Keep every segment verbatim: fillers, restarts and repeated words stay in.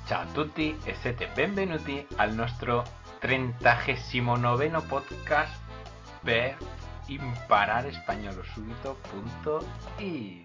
Ciao a tutti e siete benvenuti al nostro trentanoveno podcast per imparare spagnolo subito punto it.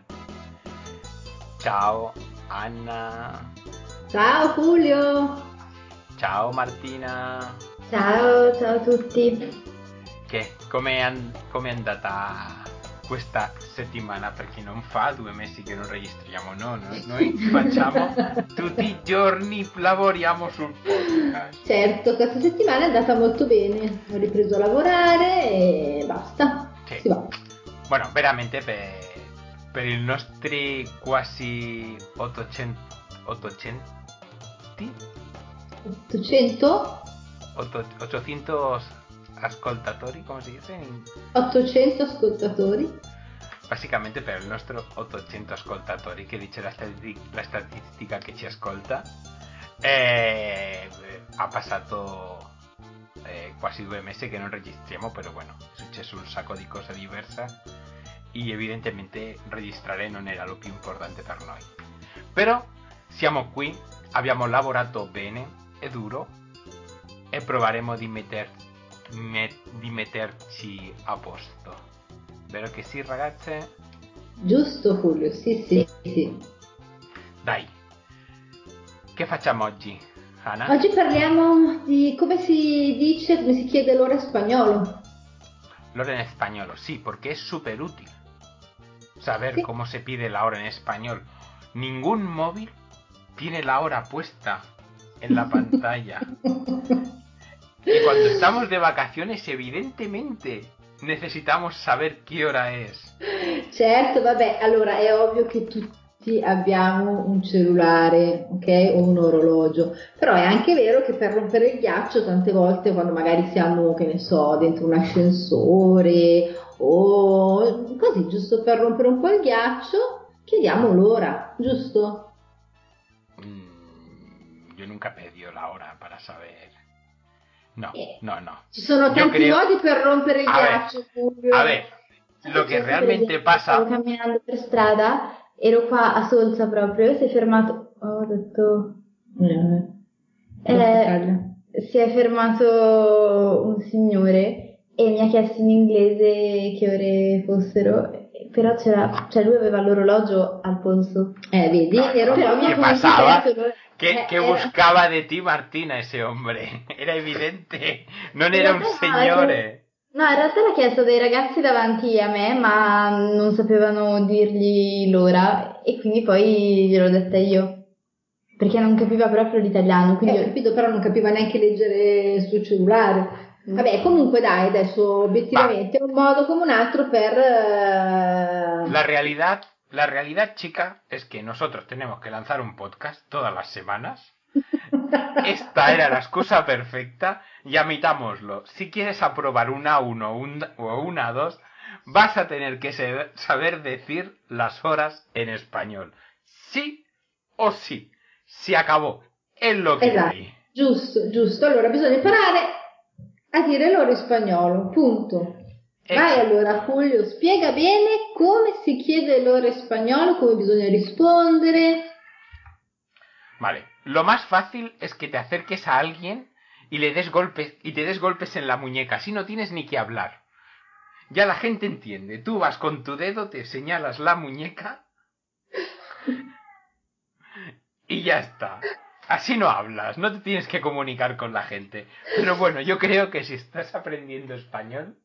Ciao Anna. Ciao Julio. Ciao Martina. Ciao, ciao a tutti. Che come è andata questa settimana? Perché non fa due mesi che non registriamo, no? Noi, noi facciamo tutti i giorni, lavoriamo sul podcast. Certo, questa settimana è andata molto bene. Ho ripreso a lavorare e basta. Sì. Si va. Bueno, veramente per, per i nostri quasi ottocento ottocento ottocento? ottocento ascoltatori, come si dice? ottocento ascoltatori. Basicamente per il nostro ottocento ascoltatori, che dice la, stati- la statistica che ci ascolta, eh, ha passato eh, quasi due mesi che non registriamo, però bueno, è successo un sacco di cose diverse e evidentemente registrare non era lo più importante per noi. Però siamo qui, abbiamo lavorato bene e duro e proveremo di, metter, met, di metterci a posto. Vero che sì, ragazze? Giusto Julio, sì sì sì. Dai, che facciamo oggi, Ana? Oggi parliamo di come si dice, come si chiede l'ora in spagnolo. L'ora en español, sí, porque es súper útil saber Sì. cómo se pide la hora en español. Ningún móvil tiene la hora puesta en la pantalla. Y cuando estamos de vacaciones, evidentemente, necesitamos saber qué hora es. Certo, vabbè, allora è ovvio che tutti abbiamo un cellulare, ok? O un orologio, però è anche vero che per rompere il ghiaccio tante volte quando magari siamo, che ne so, dentro un ascensore o così, giusto per rompere un po' il ghiaccio, chiediamo l'ora, giusto? Mm, yo nunca pedí la hora para saber. No, Eh, no, no. Ci sono Yo tanti creo... modi per rompere il A ver, ghiaccio, Fulvio. a ver, lo que Successo, per realmente esempio, stavo pasa... camminando per strada, ero qua a Solza proprio, si è fermato, ho detto, Eh, eh, si è fermato un signore e mi ha chiesto in inglese che ore fossero, però c'era, cioè lui aveva l'orologio al polso. Eh, vedi, No, no. ero Però mi ha ¿Qué comunque pasaba? chiesto l'ora. ¿Qué, Eh, qué era- buscaba de ti Martina ese hombre? Era evidente, non In era un realtà no, signore. No, in realtà l'ha chiesto dei ragazzi davanti a me, ma non sapevano dirgli l'ora e quindi poi gliel'ho detta io, perché non capiva proprio l'italiano, Eh, quindi ho capito, però non capiva neanche leggere sul cellulare. Vabbè, comunque dai, adesso obiettivamente è un modo come un altro per... eh, La realidad, la realidad, chica, es que nosotros tenemos que lanzar un podcast todas las semanas. Esta era la excusa perfecta y admitámoslo. Si quieres aprobar una uno un, o una dos, vas a tener que se- saber decir las horas en español. Sí o sí. Se acabó. Es lo que Esatto, hay. giusto, giusto. Allora bisogna imparare a dire l'ora in spagnolo, punto. Vai Exacto. allora Julio, spiega bene come si chiede l'ora in spagnolo, come bisogna rispondere. Vale. Lo más fácil es que te acerques a alguien y le des golpes y te des golpes en la muñeca. Así no tienes ni que hablar. Ya la gente entiende. Tú vas con tu dedo, te señalas la muñeca y ya está. Así no hablas, no te tienes que comunicar con la gente. Pero bueno, yo creo que si estás aprendiendo español,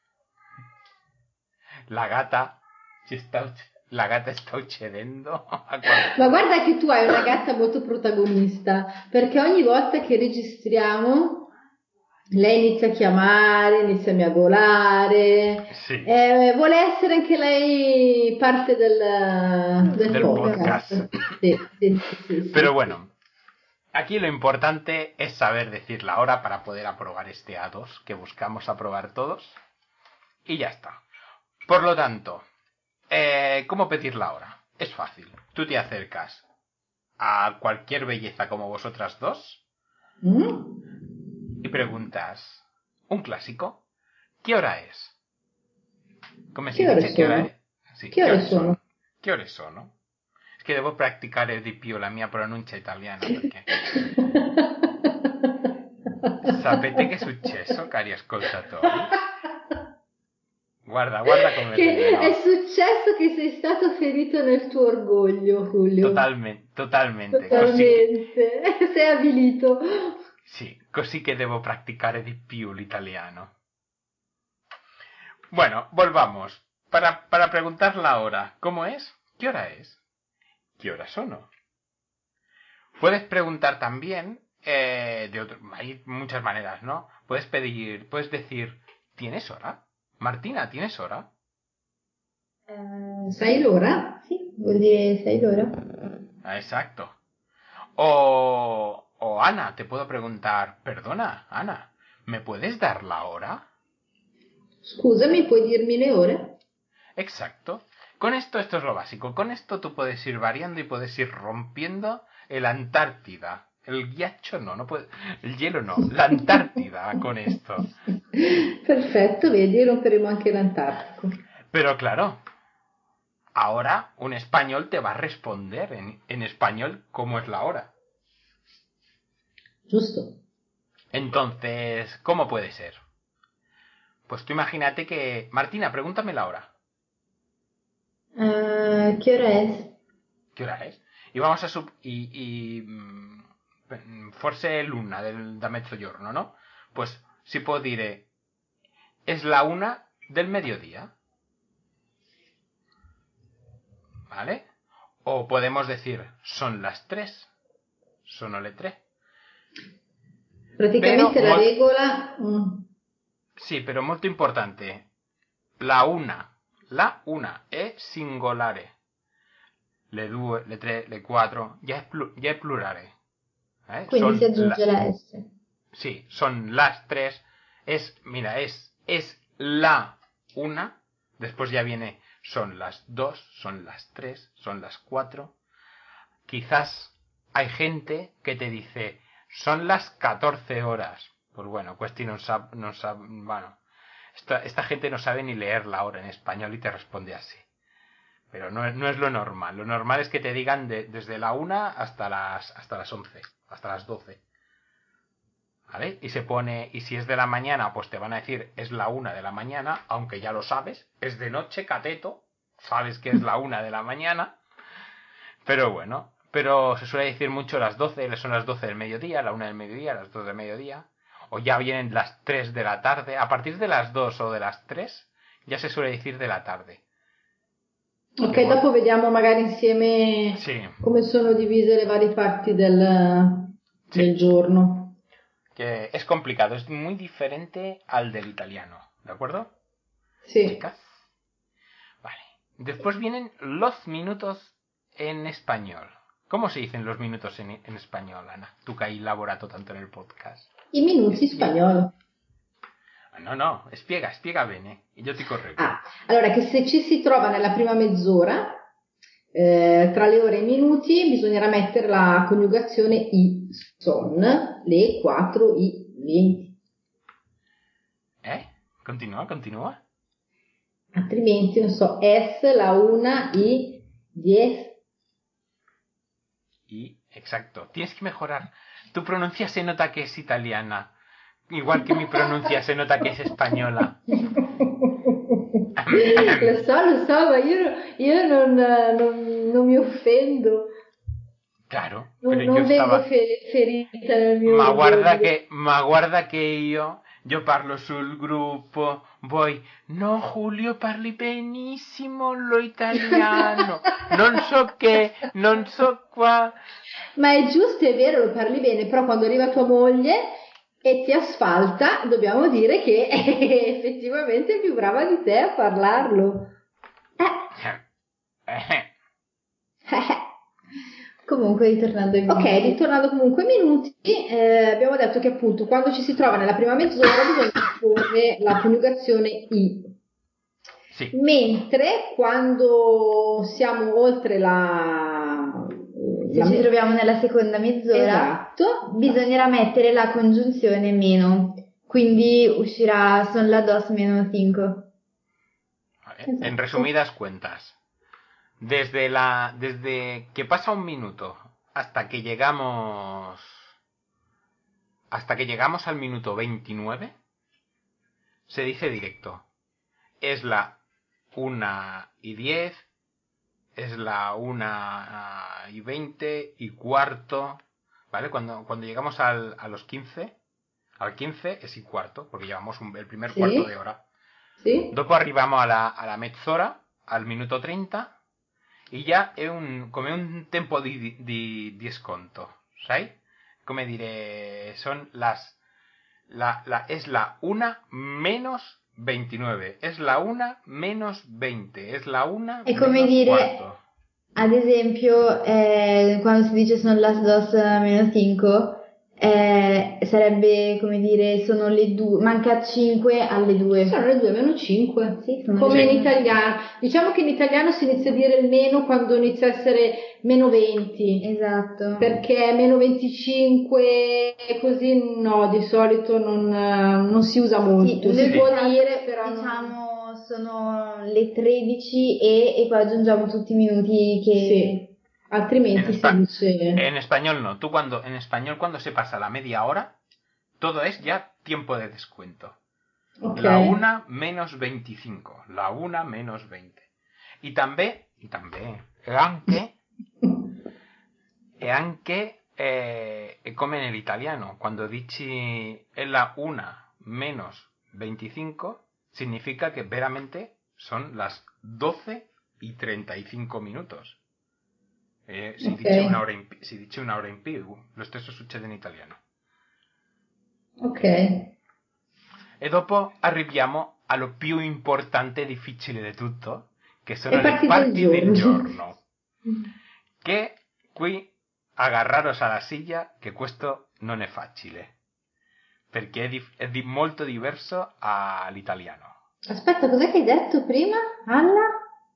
la gata, si está, la gata está uccidendo a qualcuno. Ma guarda che tu hai una gatta molto protagonista, perché ogni volta che registriamo lei inizia a chiamare, inizia a miagolare, Sì. eh, vuole essere anche lei parte del, del Del podcast. podcast. Sì, sì, sì, sì, Pero sì. bueno, aquí lo importante es saber decir la hora para poder aprobar este A dos que buscamos aprobar todos. Y ya está. Por lo tanto, eh, ¿cómo pedir la hora? Es fácil. Tú te acercas a cualquier belleza como vosotras dos Mm? y preguntas, un clásico, ¿qué hora es? ¿Cómo se Che ore dice? ¿Qué hora sono? es? Sí, Che ¿qué ore hora sono? son? ¿Qué hora sono? che devo praticare di più la mia pronuncia italiana perché sapete che è successo, cari ascoltatori? Guarda, guarda come che ride, no? È successo che sei stato ferito nel tuo orgoglio, Julio. Totalmente, totalmente. Totalmente. Così che... Sei avvilito. Sì, così che devo practicare di più l'italiano. Bueno, volvamos. Para, para preguntar la hora. ¿Cómo es? ¿Qué hora es? ¿Qué hora sono? Puedes preguntar también eh, de otro, hay muchas maneras, ¿no? Puedes pedir, puedes decir, ¿tienes hora? Martina, ¿tienes hora? Eh, Sai l'ora? Sì, vuol dire sai l'ora. Ah, exacto. O, o Ana, te puedo preguntar, perdona, Ana, ¿me puedes dar la hora? Scusami, puoi dirmi le ore? Exacto. Con esto, esto es lo básico. Con esto tú puedes ir variando y puedes ir rompiendo el Antártida. El ghiaccio no, no puede, el hielo no, la Antártida con esto. Perfetto, vedi, romperemo anche l'Antartico. Pero claro, ahora un español te va a responder en, en español cómo es la hora. Giusto. Entonces, ¿cómo puede ser? Pues tú imagínate que... Martina, pregúntame la hora. Uh, ¿Qué hora es? ¿Qué hora es? Y vamos a sub... Y... y mm, forse l'una del, da mezzogiorno, ¿no? Pues si puedo dire... Es la una del mediodía. ¿Vale? O podemos decir, son las tres. Sono le tre. Praticamente Pero la mol- regola... mm, Sì, però molto importante. La una. La una è singolare. Le due, le tre, le quattro, già è, plu- già è plurale. ¿Eh? Quindi si Son aggiunge la- la S. Sí, son las tres. Es, mira, es, es la una. Después ya viene, son las dos, son las tres, son las cuatro. Quizás hay gente que te dice, son las catorce horas. Pues bueno, questi non sa, non sa, bueno, esta, esta gente no sabe ni leer la hora en español y te responde así. Pero no, no es lo normal. Lo normal es que te digan de, desde la una hasta las, hasta las once, hasta las doce. ¿Vale? Y se pone, y si es de la mañana, pues te van a decir es la una de la mañana, aunque ya lo sabes, es de noche, cateto, sabes que es la una de la mañana, pero bueno, pero se suele decir mucho las doce, son las doce del mediodía, la una del mediodía, las dos del mediodía, o ya vienen las tres de la tarde, a partir de las dos o de las tres, ya se suele decir de la tarde. Ok, Che dopo vol- vediamo magari insieme Sì, come sono divise le varie parti del, sì. del giorno. Que es complicado, es muy diferente al del italiano, ¿de acuerdo? Sì. Chicas. Vale. Después vienen los minutos en español. ¿Cómo se dicen los minutos en, en español, Ana? Tú que hai lavorato tanto nel podcast. I minuti in Spiega. spagnolo. Ah, no, no, spiega, spiega bene. E io ti correggo. Ah, allora che se ci si trova nella prima mezz'ora, eh, tra le ore e i minuti, bisognerà mettere la coniugazione i son, le quattro, i venti. Eh? Continua, continua. Altrimenti, non so, es, la una, i diez. Y, exacto. Tienes que mejorar. Tu pronuncia se nota que es italiana. Igual que mi pronuncia se nota que es española. Lo so, lo so, ma io, io non, non, non mi offendo. Claro, Non, pero non yo vengo estaba... fe- ferita nel mio Ma guarda orgoglio. che, ma guarda che io, io parlo sul gruppo, voi, no Julio parli benissimo lo italiano, non so che, non so qua. Ma è giusto, è vero, lo parli bene, però quando arriva tua moglie e ti asfalta, dobbiamo dire che è effettivamente più brava di te a parlarlo. Eh. Comunque, ritornando ai minuti. Ok, ritornando comunque ai minuti, eh, abbiamo detto che appunto quando ci si trova nella prima mezz'ora bisogna porre la coniugazione i. Sì. Mentre quando siamo oltre la... Se la ci me- troviamo nella seconda mezz'ora, Esatto. bisognerà mettere la congiunzione meno. Quindi uscirà son las dos menos cinco. Vale. Esatto. En resumidas cuentas, Desde la desde que pasa un minuto hasta que llegamos hasta que llegamos al minuto veintinueve se dice directo. Es la una y diez, es la una y veinte y cuarto, ¿vale? Cuando, cuando llegamos al, a los quince, al quince es y cuarto, porque llevamos un, el primer Sì? cuarto de hora. Sì? Dopo arriviamo alla, alla mezz'ora, al minuto trenta, e già è un, come un tempo di, di, di sconto, sai? Come dire, son las, la, la, es la una menos veintinueve, es la una menos veinte, es la una È come menos dire, cuarto. ad esempio, eh, quando si dice sono las dos meno cinque, eh, sarebbe come dire sono le due, manca cinque alle due. Sono le due meno cinque. Sì, sono Come le in due. italiano. Diciamo che in italiano si inizia a dire il meno quando inizia a essere meno venti. Esatto. Perché meno venticinque così no, di solito non, non si usa molto. Sì, si noi può diciamo- dire, però non- diciamo sono le tredici e, e poi aggiungiamo tutti i minuti che... Sì. Altrimenti En, si espa- dice... en español no. Tú cuando, en español cuando se pasa la media hora, todo es ya tiempo de descuento. Ok. La una menos veinticinco. La una menos veinte. Y también, y también, e anche, e anche, eh, è come nell'italiano. Quando dici è la una menos veinticinco, significa que veramente son las doce y treinta y cinco minutos. Eh, si, Ok. dice una ora in, si dice una ora in più, lo stesso succede in italiano. Ok. E dopo arriviamo allo più importante e difficile di tutto, che sono Le le parti parti del del giorno. giorno. Che qui agarraros alla silla, che questo non è facile, perché è, di, è di molto diverso all'italiano. Aspetta, cos'è che hai detto prima? Anna?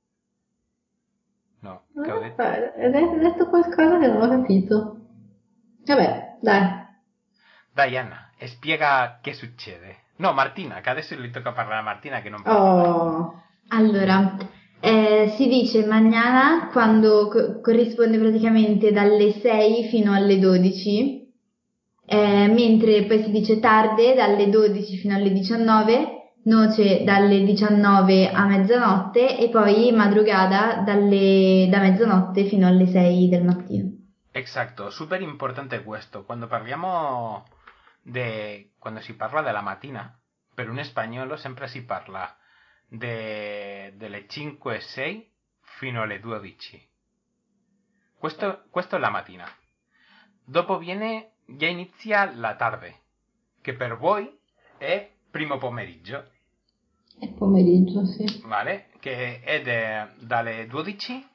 No, che ho detto? Ah, hai detto hai detto qualcosa che non ho capito. Vabbè, dai. Dai Anna, spiega che succede. No, Martina, che adesso gli tocca parlare a Martina che non parla mai. Oh. Allora, eh, si dice mañana quando co- corrisponde praticamente dalle sei fino alle dodici, eh, mentre poi si dice tarde dalle dodici fino alle diciannove, noce dalle diciannove a mezzanotte e poi madrugada dalle, da mezzanotte fino alle sei del mattino. Exacto, súper importante questo. Quando parliamo de... Quando si parla della mattina, per un spagnolo sempre si parla de... delle cinque e sei fino alle dodici. Questo, questo è la mattina. Dopo viene, già inizia la tarde, che per voi è primo pomeriggio, È pomeriggio, sì. vale? Che è de- dalle dodici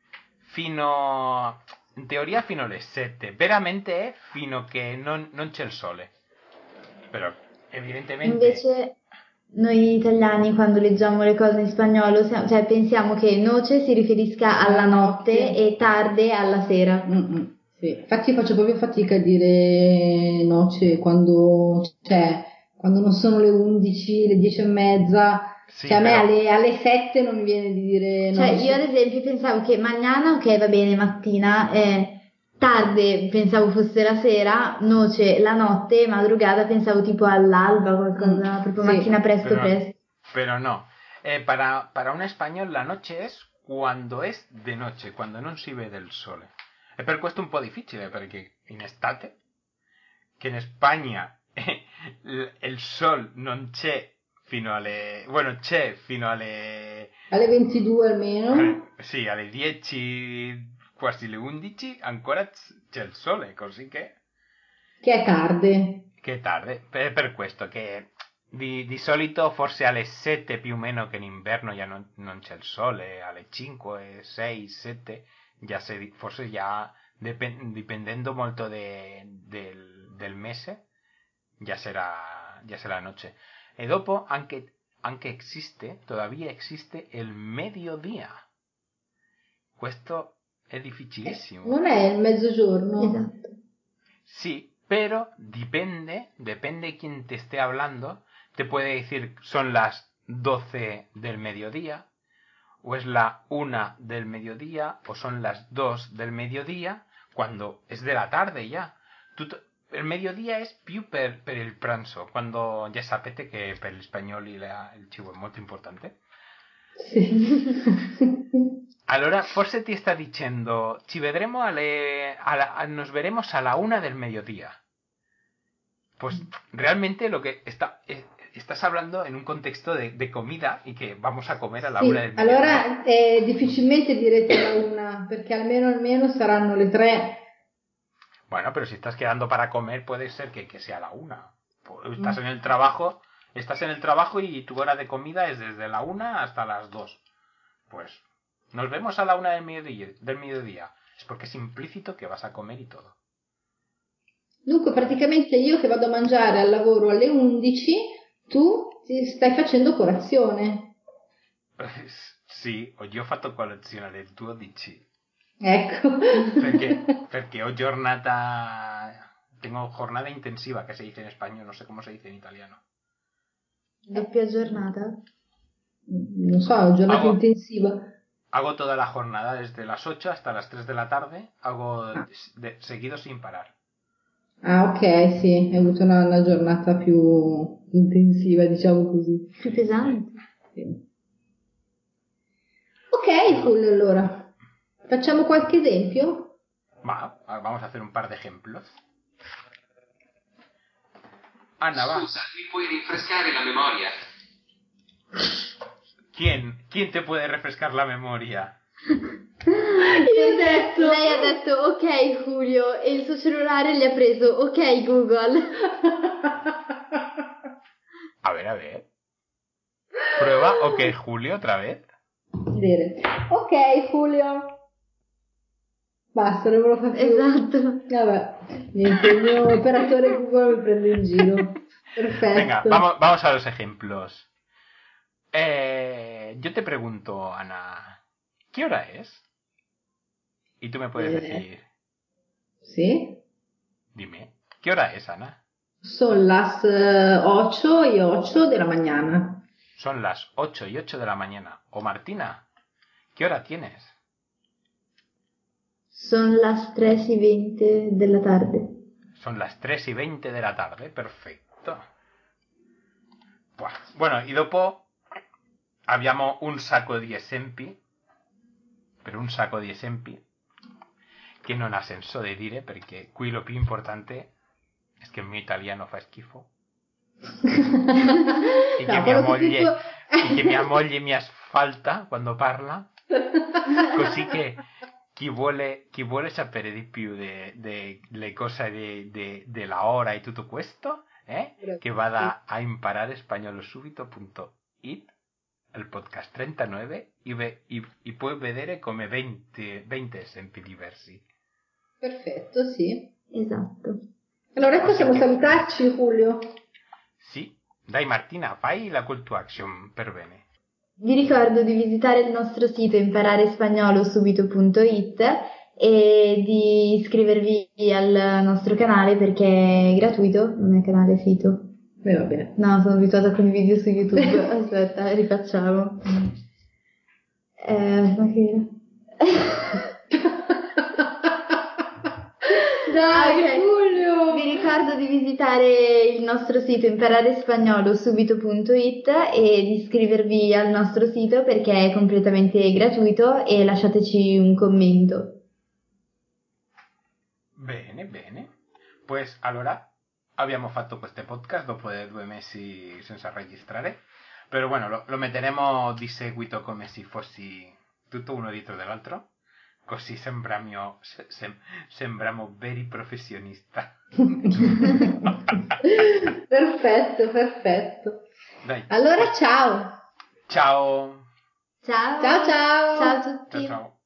fino... in teoria fino alle sette, veramente è fino che non, non c'è il sole. Però evidentemente... Invece noi italiani quando leggiamo le cose in spagnolo, siamo- cioè pensiamo che noce si riferisca alla notte e tarde alla sera. Mm-mm, sì. Infatti faccio proprio fatica a dire noce quando, cioè, quando non sono le undici, le dieci e mezza. Sì, Cioè a me però- alle, alle sette non mi viene di dire Cioè noce. io ad esempio pensavo che mañana, ok va bene, mattina, eh, tarde pensavo fosse la sera, noce la notte, madrugada pensavo tipo all'alba, qualcosa, Mm, proprio sì. mattina presto Pero, presto. pero no. Eh, para, para un español la noche es quando es de noche, quando non si vede il sole. E per questo è un po' difficile, perché in estate, che in Spagna il, il sol non c'è fino alle... bueno, c'è fino alle... Alle ventidue almeno. alle sì, alle dieci, quasi le undici, ancora c'è il sole, così che... Che è tarde. Che è tardi. Per, per questo che di, di solito forse alle sette più o meno, che in inverno già non, non c'è il sole, alle cinque, sei, sette, già se, forse già dipend, dipendendo molto de, del, del mese, già sarà, già sarà noche. E dopo anche, anche existe, todavía existe il mediodía. Questo è difficilissimo. Non è il mezzogiorno? Esatto. Sí, pero depende, depende quién te esté hablando. Te puede decir son las doce del mediodía, o es la una del mediodía, o son las dos del mediodía, quando es de la tarde ya. Tutto... Il mediodía è più per, per il pranzo, quando già sapete che per gli spagnoli la, il cibo è molto importante. Sì. Allora, forse ti sta dicendo, ci vedremo alle, alla, nos veremos a la una del mediodía. Pues realmente lo que está, eh, estás hablando en un contexto de, de comida y que vamos a comer a la Sì, una del mediodía. allora eh, difficilmente direte la una, perché almeno almeno saranno le tre. Bueno, pero si estás quedando para comer, puede ser que, que sea la una. Estás en el trabajo, estás en el trabajo y tu hora de comida es desde la una hasta las dos. Pues nos vemos a la una del mediodía, del mediodía. Es porque es implícito que vas a comer y todo. Dunque praticamente io che vado a mangiare al lavoro alle undici, tu ti stai facendo colazione. Sì, io ho fatto colazione alle dodici. Ecco. Perché, perché ho giornata, tengo jornada intensiva, que se dice en español, no sé cómo se dice en italiano. Doppia giornata? Non so, giornata hago, intensiva. Hago toda la jornada desde las ocho hasta las tres de la tarde, hago de, seguido sin parar. Ah, ok, sì, hai avuto una, una giornata più intensiva, diciamo così. Più pesante. Sì. Ok, cool, allora. Facciamo qualche esempio? Va, vamos a hacer un par de ejemplos. Ana, va. Scusa, mi puoi rinfrescare la memoria? ¿Quién? ¿Quién te puede refrescar la memoria? Io ho detto... Lei ha detto ok Julio e il suo cellulare gli ha preso ok Google. A ver, a ver. Prueba ok Julio otra vez. Bene. Ok Julio. Basta, non me lo fa più. Esatto. Vabbè, niente, il mio operatore Google mi prende in giro. Perfetto. Venga, vamos, vamos a los ejemplos. Eh, yo te pregunto, Ana, ¿qué hora es? Y tú me puedes Eh, decir, sì. dime, ¿qué hora es, Ana? Son las uh, ocho y ocho de la mañana. Son las ocho y ocho de la mañana. O Martina, ¿qué hora tienes? Son las tres y veinte della tarde. Son las tres y veinte de la tarde, perfetto. Bueno, y dopo abbiamo un sacco di esempi, per un sacco di esempi, che non ha senso di dire, perché qui lo più importante è che il mio italiano fa schifo. e, che No, mia moglie, tipo... e che mia moglie mi asfalta quando parla, così che chi vuole, chi vuole sapere di più delle cose della ora e tutto questo, eh, che vada a imparare spagnolo subito punto it, il podcast trentanove, e, ve, e, e puoi vedere come venti, venti esempi diversi. Perfetto, sì. Esatto. Allora possiamo che... salutarci, Julio. Sì, dai Martina, fai la call to action per bene. Vi ricordo di visitare il nostro sito imparerespagnolo.subito punto it e di iscrivervi al nostro canale perché è gratuito, non è canale, è sito. Beh, va bene. No, sono abituata con i video su YouTube. Aspetta, rifacciamo. Eh, ma che... Dai, okay. Julio! Vi ricordo di visitare il nostro sito imparerespagnolo.subito punto it e di iscrivervi al nostro sito perché è completamente gratuito e lasciateci un commento. Bene, bene. Pues allora abbiamo fatto questo podcast dopo due mesi senza registrare, però bueno, lo, lo metteremo di seguito come se fossi tutto uno dietro dell'altro. Così sembriamo, sem, sembriamo veri professionisti. Perfetto, perfetto. Dai. Allora, ciao. Ciao. Ciao. Ciao, ciao. Ciao a tutti. Ciao, ciao.